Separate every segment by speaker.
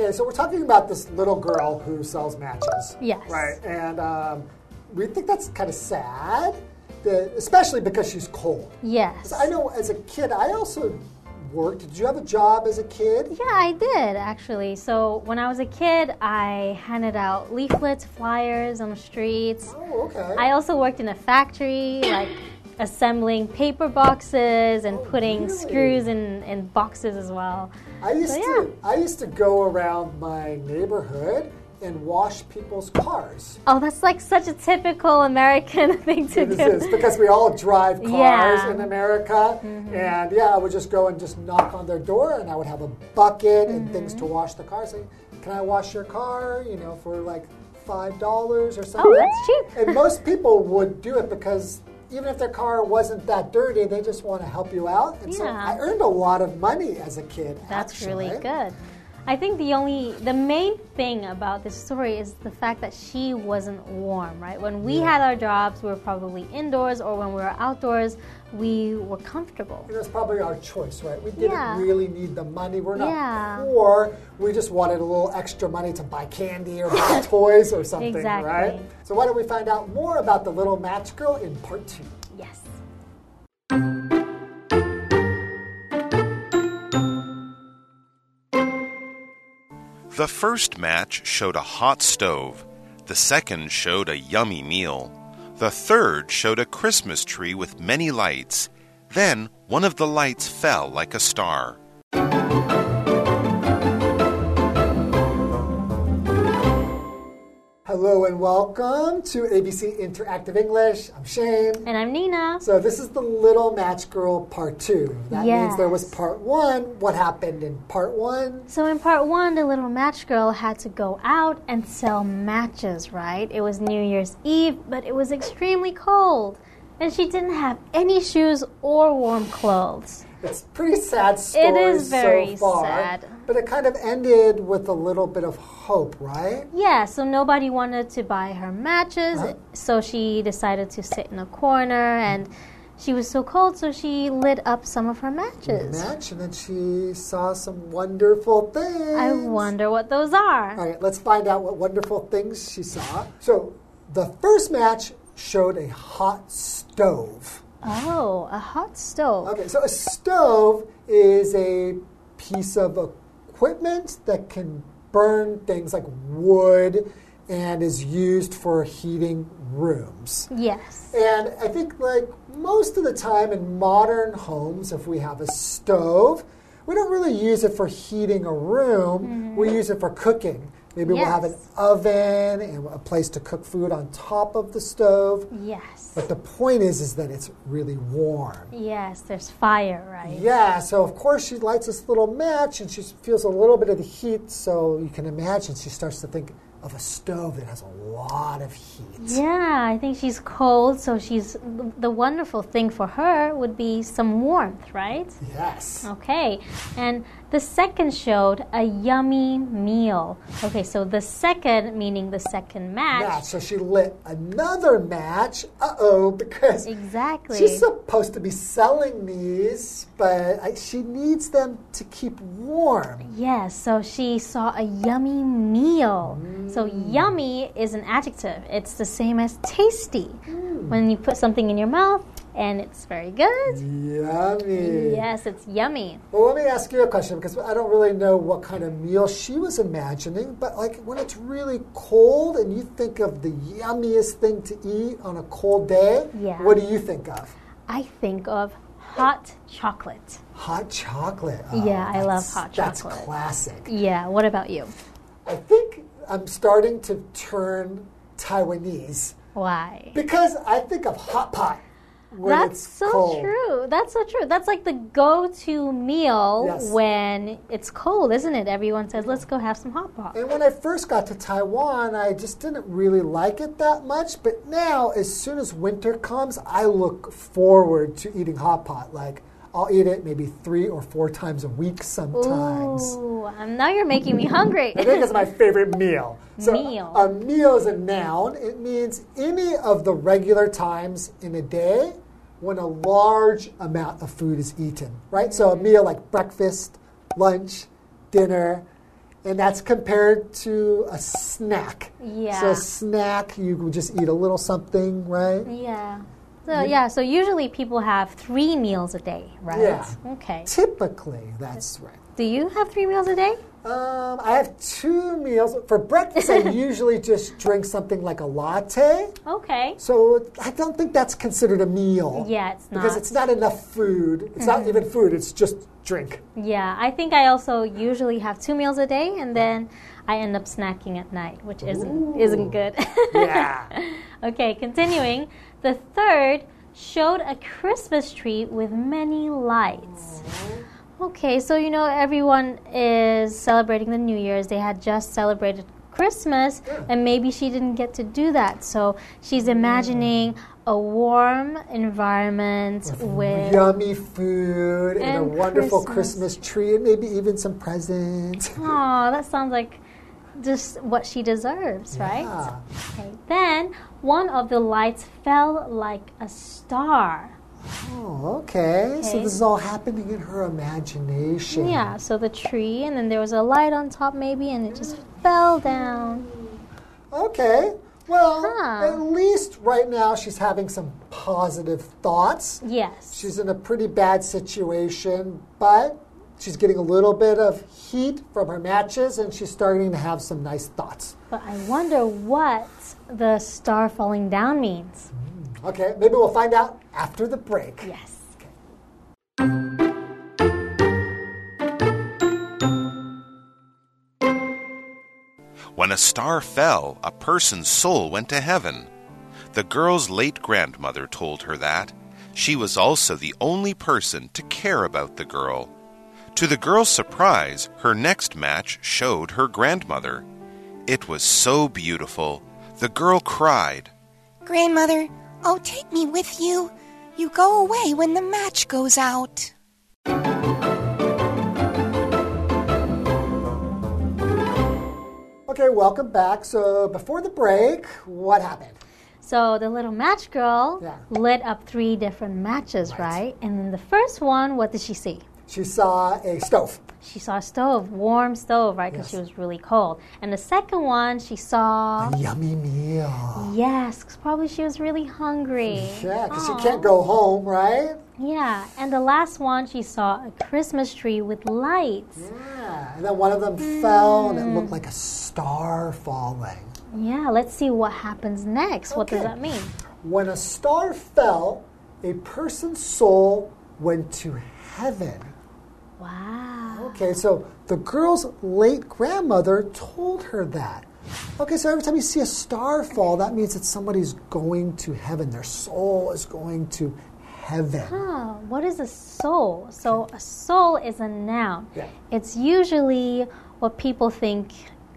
Speaker 1: Okay, so we're talking about this little girl who sells matches.
Speaker 2: Yes.
Speaker 1: Right, and we think that's kind of sad, especially because she's cold.
Speaker 2: Yes.
Speaker 1: I know as a kid, I also worked. Did you have a job as a kid?
Speaker 2: Yeah, I did, actually. So when I was a kid, I handed out leaflets, flyers on the streets.
Speaker 1: Oh, okay.
Speaker 2: I also worked in a factory, like assembling paper boxes and putting
Speaker 1: really?
Speaker 2: screws in boxes as well.
Speaker 1: I used to go around my neighborhood and wash people's cars.
Speaker 2: Oh, that's like such a typical American thing to do.
Speaker 1: It is, because we all drive cars
Speaker 2: Yeah.
Speaker 1: in America. And yeah, I would just go and just knock on their door, and I would have a bucket and things to wash the car. Say, can I wash your car, for like $5 or something?
Speaker 2: Oh, that's cheap.
Speaker 1: And most people would do it because even if their car wasn't that dirty, they just want to help you out. And so I earned a lot of money as a kid.
Speaker 2: That's
Speaker 1: actually.
Speaker 2: really good. I think the main thing about this story is the fact that she wasn't warm, right? When we had our jobs, we were probably indoors, or when we were outdoors, we were comfortable.
Speaker 1: It was probably our choice, right? We didn't really need the money. We're not poor. We just wanted a little extra money to buy candy or buy toys or something,
Speaker 2: Exactly.
Speaker 1: right? So why don't we find out more about the little match girl in part 2?
Speaker 2: Yes.
Speaker 3: The first match showed a hot stove. The second showed a yummy meal. The third showed a Christmas tree with many lights. Then one of the lights fell like a star.
Speaker 1: Hello and welcome to ABC Interactive English. I'm Shane.
Speaker 2: And I'm Nina.
Speaker 1: So this is the Little Match Girl Part 2. That means there was Part 1. What happened in Part 1?
Speaker 2: So in Part 1, the little match girl had to go out and sell matches, right? It was New Year's Eve, but it was extremely cold. And she didn't have any shoes or warm clothes.
Speaker 1: It's a pretty sad story
Speaker 2: It is very
Speaker 1: so far,
Speaker 2: sad.
Speaker 1: But it kind of ended with a little bit of hope, right?
Speaker 2: Yeah, so nobody wanted to buy her matches, so she decided to sit in a corner, and she was so cold, so she lit up some of her matches.
Speaker 1: And then she saw some wonderful things.
Speaker 2: I wonder what those are.
Speaker 1: All right, let's find out what wonderful things she saw. So the first match showed a hot stove.
Speaker 2: Oh, a hot stove.
Speaker 1: Okay, so a stove is a piece of equipment that can burn things like wood and is used for heating rooms.
Speaker 2: Yes.
Speaker 1: And I think like most of the time in modern homes, if we have a stove, we don't really use it for heating a room. We use it for cooking. Maybe we'll have an oven and a place to cook food on top of the stove.
Speaker 2: Yes.
Speaker 1: But the point is that it's really warm.
Speaker 2: Yes, there's fire, right?
Speaker 1: Yeah, so of course she lights this little match and she feels a little bit of the heat, so you can imagine she starts to think of a stove that has a lot of heat.
Speaker 2: Yeah, I think she's cold, so the wonderful thing for her would be some warmth, right?
Speaker 1: Yes.
Speaker 2: Okay, and the second showed a yummy meal. Okay, so the second, meaning the second match.
Speaker 1: So she lit another match. Because she's supposed to be selling these, but she needs them to keep warm.
Speaker 2: Yes, so she saw a yummy meal. So yummy is an adjective. It's the same as tasty. When you put something in your mouth and it's very good.
Speaker 1: Yummy.
Speaker 2: Yes, it's yummy.
Speaker 1: Well, let me ask you a question, because I don't really know what kind of meal she was imagining, but like when it's really cold and you think of the yummiest thing to eat on a cold day, what do you think of?
Speaker 2: I think of hot chocolate.
Speaker 1: Hot chocolate.
Speaker 2: Yeah, I love hot chocolate.
Speaker 1: That's classic.
Speaker 2: Yeah, what about you?
Speaker 1: I think I'm starting to turn Taiwanese.
Speaker 2: Why?
Speaker 1: Because I think of hot pot when it's cold.
Speaker 2: True. That's so true. That's like the go-to meal when it's cold, isn't it? Everyone says, let's go have some hot pot.
Speaker 1: And when I first got to Taiwan, I just didn't really like it that much. But now, as soon as winter comes, I look forward to eating hot pot. Like, I'll eat it maybe 3 or 4 times a week sometimes.
Speaker 2: Ooh, now you're making me hungry.
Speaker 1: I think it's my favorite meal. So
Speaker 2: meal.
Speaker 1: A meal is a noun. It means any of the regular times in a day when a large amount of food is eaten, right? So a meal like breakfast, lunch, dinner, And that's compared to a snack.
Speaker 2: Yeah.
Speaker 1: So a snack, you would just eat a little something, right?
Speaker 2: Yeah. So usually people have 3 meals a day, right?
Speaker 1: Yeah.
Speaker 2: Okay.
Speaker 1: Typically, that's right.
Speaker 2: Do you have 3 meals a day?
Speaker 1: I have 2 meals. For breakfast, I usually just drink something like a latte.
Speaker 2: Okay.
Speaker 1: So I don't think that's considered a meal.
Speaker 2: Yeah, it's not.
Speaker 1: Because it's not enough food. It's not even food, it's just drink.
Speaker 2: Yeah, I think I also usually have 2 meals a day, and then I end up snacking at night, which isn't good.
Speaker 1: Yeah.
Speaker 2: Okay, continuing. The third showed a Christmas tree with many lights. Okay, so everyone is celebrating the New Year's. They had just celebrated Christmas, and maybe she didn't get to do that. So she's imagining a warm environment with
Speaker 1: yummy food and a wonderful
Speaker 2: Christmas
Speaker 1: tree and maybe even some presents.
Speaker 2: Oh, that sounds like just what she deserves, right? Okay. Then one of the lights fell like a star.
Speaker 1: Oh, okay. So this is all happening in her imagination.
Speaker 2: Yeah, so the tree, and then there was a light on top maybe, and it just fell down.
Speaker 1: Okay. Well, at least right now she's having some positive thoughts.
Speaker 2: Yes.
Speaker 1: She's in a pretty bad situation, but she's getting a little bit of heat from her matches, and she's starting to have some nice thoughts.
Speaker 2: But I wonder what the star falling down means.
Speaker 1: Okay, maybe we'll find out after the break.
Speaker 2: Yes.
Speaker 3: When a star fell, a person's soul went to heaven. The girl's late grandmother told her that. She was also the only person to care about the girl. To the girl's surprise, her next match showed her grandmother. It was so beautiful. The girl cried,
Speaker 4: "Grandmother, oh, take me with you. You go away when the match goes out."
Speaker 1: Okay, welcome back. So before the break, what happened?
Speaker 2: So the little match girl lit up 3 different matches, right? And then the first one, what did she see?
Speaker 1: She saw a stove.
Speaker 2: She saw a stove, warm stove, right? Because she was really cold. And the second one, she saw
Speaker 1: a yummy meal.
Speaker 2: Yes, 'cause probably she was really hungry.
Speaker 1: Yeah, because she can't go home, right?
Speaker 2: Yeah, and the last one, she saw a Christmas tree with lights.
Speaker 1: Yeah, and then one of them fell, and it looked like a star falling.
Speaker 2: Yeah, let's see what happens next. What does that mean?
Speaker 1: When a star fell, a person's soul went to heaven.
Speaker 2: Wow.
Speaker 1: Okay, so the girl's late grandmother told her that. Okay, so every time you see a star fall, that means that somebody's going to heaven. Their soul is going to heaven.
Speaker 2: Huh, what is a soul? So a soul is a noun.
Speaker 1: Yeah.
Speaker 2: It's usually what people think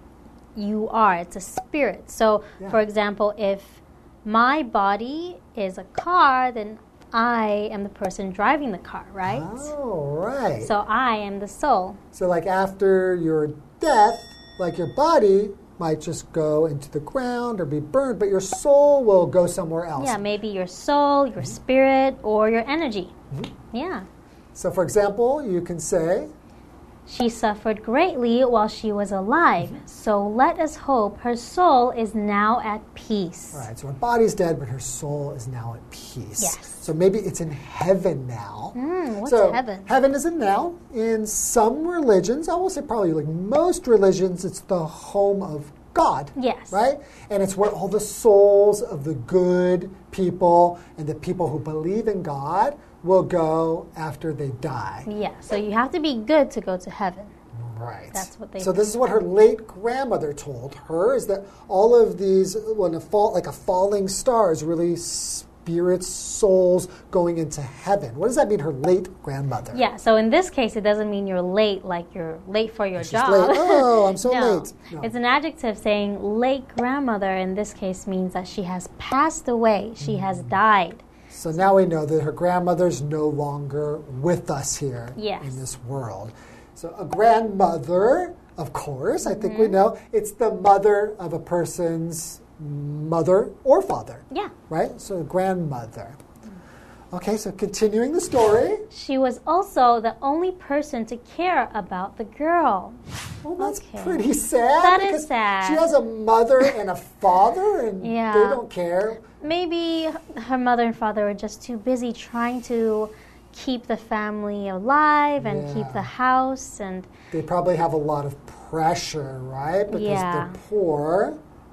Speaker 2: you are. It's a spirit. So, for example, if my body is a car, then I am the person driving the car, right?
Speaker 1: Oh, right.
Speaker 2: So I am the soul.
Speaker 1: So like after your death, like your body might just go into the ground or be burned, but your soul will go somewhere else.
Speaker 2: Yeah, maybe your soul, your spirit, or your energy. Yeah.
Speaker 1: So for example, you can say,
Speaker 2: she suffered greatly while she was alive, so let us hope her soul is now at peace.
Speaker 1: All right, so her body's dead, but her soul is now at peace.
Speaker 2: Yes.
Speaker 1: So maybe it's in heaven now.
Speaker 2: What's
Speaker 1: so
Speaker 2: heaven?
Speaker 1: Heaven is a noun. In some religions, I will say probably like most religions, it's the home of God.
Speaker 2: Yes.
Speaker 1: Right? And it's where all the souls of the good people and the people who believe in God will go after they die.
Speaker 2: Yeah, so you have to be good to go to heaven.
Speaker 1: Right.
Speaker 2: That's what they
Speaker 1: So this is what her late grandmother told her, is that all of these, when a falling star is really spirits, souls going into heaven. What does that mean, her late grandmother?
Speaker 2: Yeah, so in this case, it doesn't mean you're late, like you're late for your job.
Speaker 1: Late. Oh, I'm so
Speaker 2: no.
Speaker 1: late. No.
Speaker 2: It's an adjective saying late grandmother in this case means that she has passed away, she has died.
Speaker 1: So now we know that her grandmother's no longer with us here
Speaker 2: Yes.
Speaker 1: in this world. So a grandmother, of course, I think we know, it's the mother of a person's mother or father.
Speaker 2: Yeah.
Speaker 1: Right? So a grandmother. Okay, so continuing the story.
Speaker 2: She was also the only person to care about the girl.
Speaker 1: Well, that's pretty sad.
Speaker 2: That is sad.
Speaker 1: She has a mother and a father, and they don't care.
Speaker 2: Maybe her mother and father are just too busy trying to keep the family alive and keep the house. And
Speaker 1: they probably have a lot of pressure, right? Because they're poor.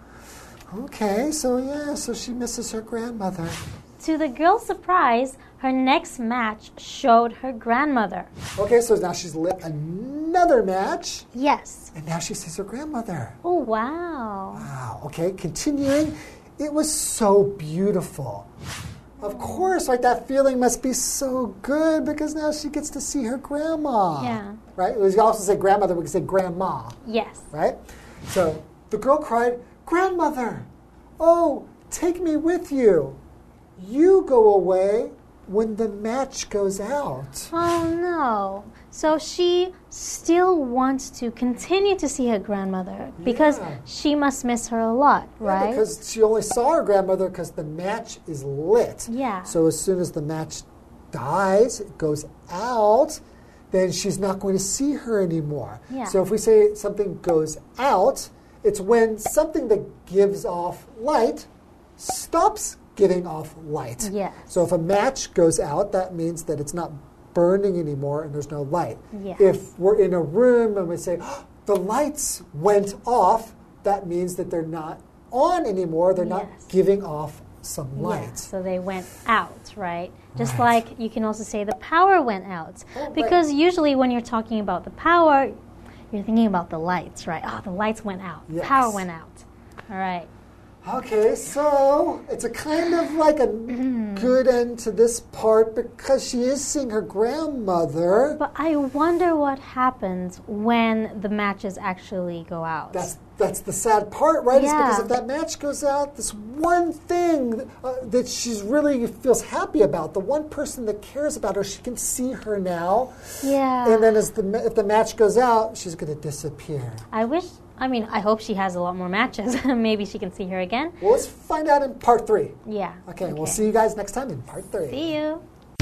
Speaker 1: Okay, so she misses her grandmother.
Speaker 2: To the girl's surprise, her next match showed her grandmother.
Speaker 1: Okay, so now she's lit another match.
Speaker 2: Yes.
Speaker 1: And now she sees her grandmother.
Speaker 2: Oh, wow.
Speaker 1: Wow, okay, continuing. It was so beautiful. Of course, right, that feeling must be so good because now she gets to see her grandma.
Speaker 2: Yeah.
Speaker 1: Right? We also say grandmother, we can say grandma.
Speaker 2: Yes.
Speaker 1: Right? So the girl cried, "Grandmother, oh, take me with you. You go away when the match goes out."
Speaker 2: Oh, no. So she still wants to continue to see her grandmother because she must miss her a lot, right?
Speaker 1: Because she only saw her grandmother because the match is lit.
Speaker 2: Yeah.
Speaker 1: So as soon as the match dies, it goes out, then she's not going to see her anymore.
Speaker 2: Yeah.
Speaker 1: So if we say something goes out, it's when something that gives off light stops giving off light.
Speaker 2: Yes.
Speaker 1: So if a match goes out, that means that it's not burning anymore and there's no light.
Speaker 2: Yes.
Speaker 1: If we're in a room and we say, oh, the lights went off, that means that they're not on anymore. They're not giving off some light.
Speaker 2: Yeah, so they went out, right? Just like you can also say the power went out. Because usually when you're talking about the power, you're thinking about the lights, right? Oh, the lights went out.
Speaker 1: Yes.
Speaker 2: Power went out. All right.
Speaker 1: Okay, so it's a kind of like a good end to this part because she is seeing her grandmother.
Speaker 2: But I wonder what happens when the matches actually go out.
Speaker 1: That's the sad part, right?
Speaker 2: Yeah.
Speaker 1: Is because if that match goes out, this one thing that she's really feels happy about, the one person that cares about her, she can see her now.
Speaker 2: Yeah.
Speaker 1: And then if the match goes out, she's going to disappear.
Speaker 2: I hope she has a lot more matches. Maybe she can see her again.
Speaker 1: Well, let's find out in part 3.
Speaker 2: Yeah.
Speaker 1: Okay, we'll see you guys next time in part 3.
Speaker 2: See you.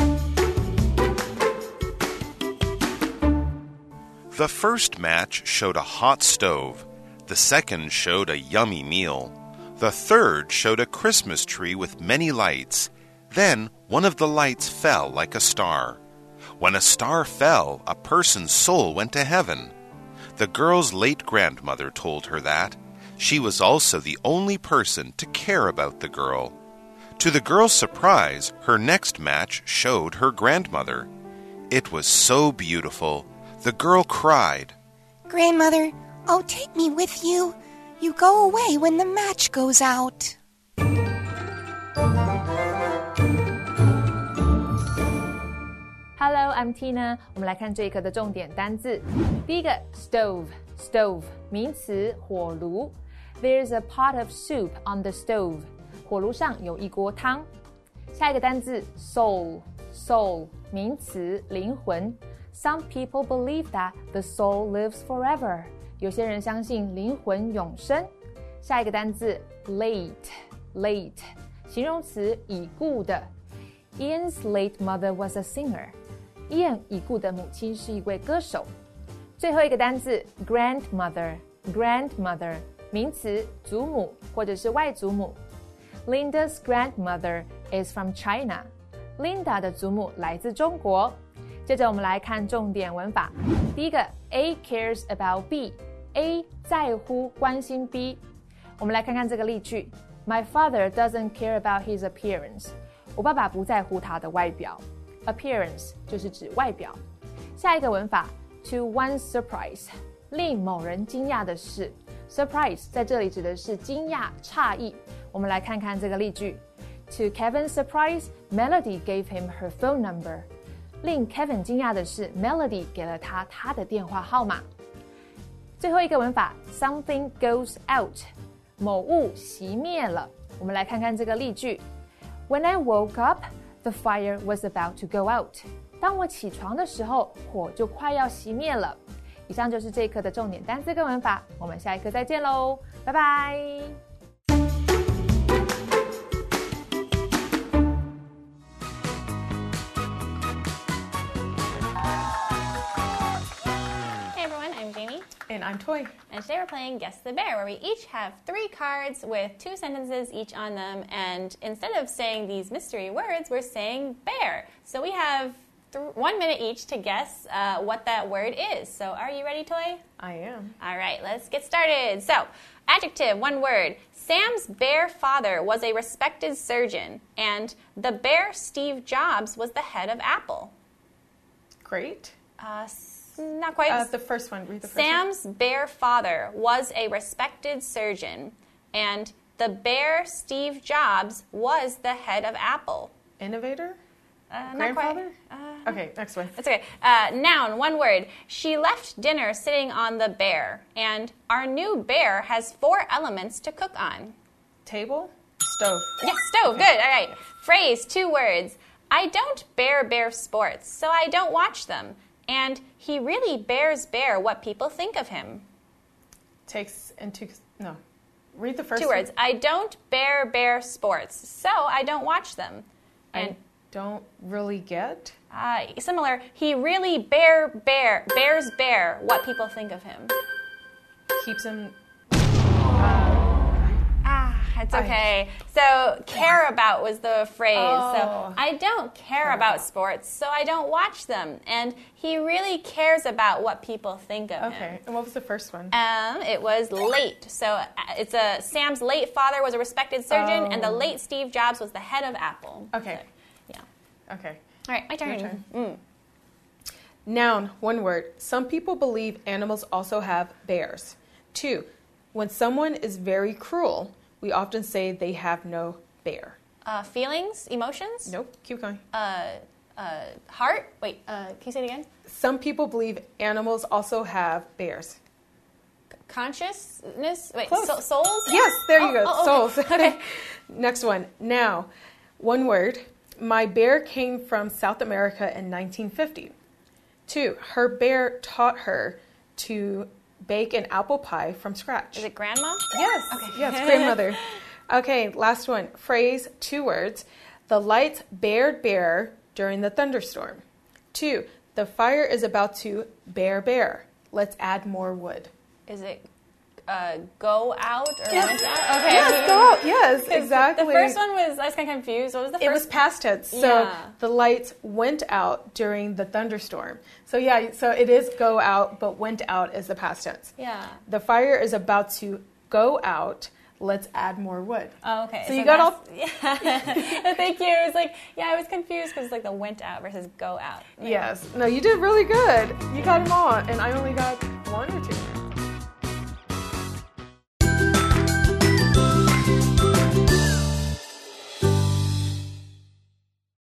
Speaker 3: The first match showed a hot stove. The second showed a yummy meal. The third showed a Christmas tree with many lights. Then one of the lights fell like a star. When a star fell, a person's soul went to heaven. The girl's late grandmother told her that. She was also the only person to care about the girl. To the girl's surprise, her next match showed her grandmother. It was so beautiful. The girl cried,
Speaker 4: "Grandmother, oh, take me with you. You go away when the match goes out."
Speaker 5: Hello, I'm Tina. 我们来看这一课的重点单字。第一个 stove 名词火炉。There's a pot of soup on the stove. 火炉上有一锅汤。下一个单字 soul 名詞靈魂。Some people believe that the soul lives forever. 有些人相信靈魂永生。下一個單字 late 形容詞已故的。Ian's late mother was a singer. Ian 已故的母親是一位歌手。最後一個單字 grandmother 名詞祖母或者是外祖母。Linda's grandmother is from China. Linda 的祖母來自中國。接着我們來看重點文法。第一個 A cares about B. A 在乎關心 B。我們來看看這個例句。My father doesn't care about his appearance. 我爸爸不在乎他的外表。Appearance 就是指外表。下一個文法 To one's surprise 令某人驚訝的事。Surprise 在這裡指的是驚訝、詫異。我們來看看這個例句。To Kevin's surprise, Melody gave him her phone number. 令 Kevin 驚訝的是 Melody 給了他的電話號碼。最後一個文法 Something goes out 某物熄滅了。我們來看看這個例句。When I woke up, the fire was about to go out. 當我起床的時候，火就快要熄滅了。以上就是這一課的重點單字跟文法，我們下一課再見嘍，拜拜。
Speaker 6: And I'm Toy.
Speaker 7: And today we're playing Guess the Bear, where we each have 3 cards with 2 sentences each on them. And instead of saying these mystery words, we're saying bear. So we have 1 minute each to guess what that word is. So are you ready, Toy?
Speaker 6: I am.
Speaker 7: All right, let's get started. So, adjective, 1 word. Sam's bear father was a respected surgeon, and the bear Steve Jobs was the head of Apple.
Speaker 6: Great.
Speaker 7: Not quite.
Speaker 6: The first one. Read the first
Speaker 7: Sam's bear father was a respected surgeon, and the bear Steve Jobs was the head of Apple.
Speaker 6: Innovator?
Speaker 7: Grandfather?
Speaker 6: Okay, next one.
Speaker 7: That's okay. Noun, 1 word. She left dinner sitting on the bear, and our new bear has 4 elements to cook on.
Speaker 6: Table? Stove.
Speaker 7: Yes, stove. Okay. Good. All right. Phrase, 2 words. I don't bear sports, so I don't watch them. And he really bears what people think of him.
Speaker 6: Read the first
Speaker 7: 2 words. I don't bear sports, so I don't watch them. And
Speaker 6: I don't really get.
Speaker 7: Similar. He really bears what people think of him.
Speaker 6: Keeps him.
Speaker 7: It's okay. So, care about was the phrase.
Speaker 6: Oh.
Speaker 7: So, I don't care about sports, so I don't watch them. And he really cares about what people think of him.
Speaker 6: Okay. And what was the first one?
Speaker 7: It was late. So, it's Sam's late father was a respected surgeon, and the late Steve Jobs was the head of Apple.
Speaker 6: Okay.
Speaker 7: So, yeah.
Speaker 6: Okay.
Speaker 7: All right, my turn.
Speaker 6: Your turn. Noun, 1 word. Some people believe animals also have bears. 2, when someone is very cruel, we often say they have no bear.
Speaker 7: Feelings, emotions?
Speaker 6: Nope. Keep going.
Speaker 7: Heart? Wait, can you say it again?
Speaker 6: Some people believe animals also have bears.
Speaker 7: Consciousness? Wait,
Speaker 6: souls?
Speaker 7: Souls?
Speaker 6: Yes, there you go.
Speaker 7: Okay.
Speaker 6: Souls.
Speaker 7: Okay.
Speaker 6: Next one. Now, 1 word. My bear came from South America in 1950. 2, her bear taught her to bake an apple pie from scratch.
Speaker 7: Is it grandma?
Speaker 6: Yes.
Speaker 7: Okay.
Speaker 6: Yes, grandmother. Okay, last one. Phrase, 2 words. The lights bared bare during the thunderstorm. 2, the fire is about to bare. Let's add more wood.
Speaker 7: Is it go out or
Speaker 6: Yes.
Speaker 7: went out? Okay.
Speaker 6: Yes, go out. Yes, exactly.
Speaker 7: The first one was, I was kind of confused. What was the first?
Speaker 6: It was past tense. So the lights went out during the thunderstorm. So so it is go out, but went out is the past tense.
Speaker 7: Yeah.
Speaker 6: The fire is about to go out. Let's add more wood.
Speaker 7: Oh, okay.
Speaker 6: So you got all...
Speaker 7: Yeah. Thank you. It was like, I was confused because it's like the went out versus go out.
Speaker 6: Yes. No, you did really good. You got them all, and I only got 1 or 2.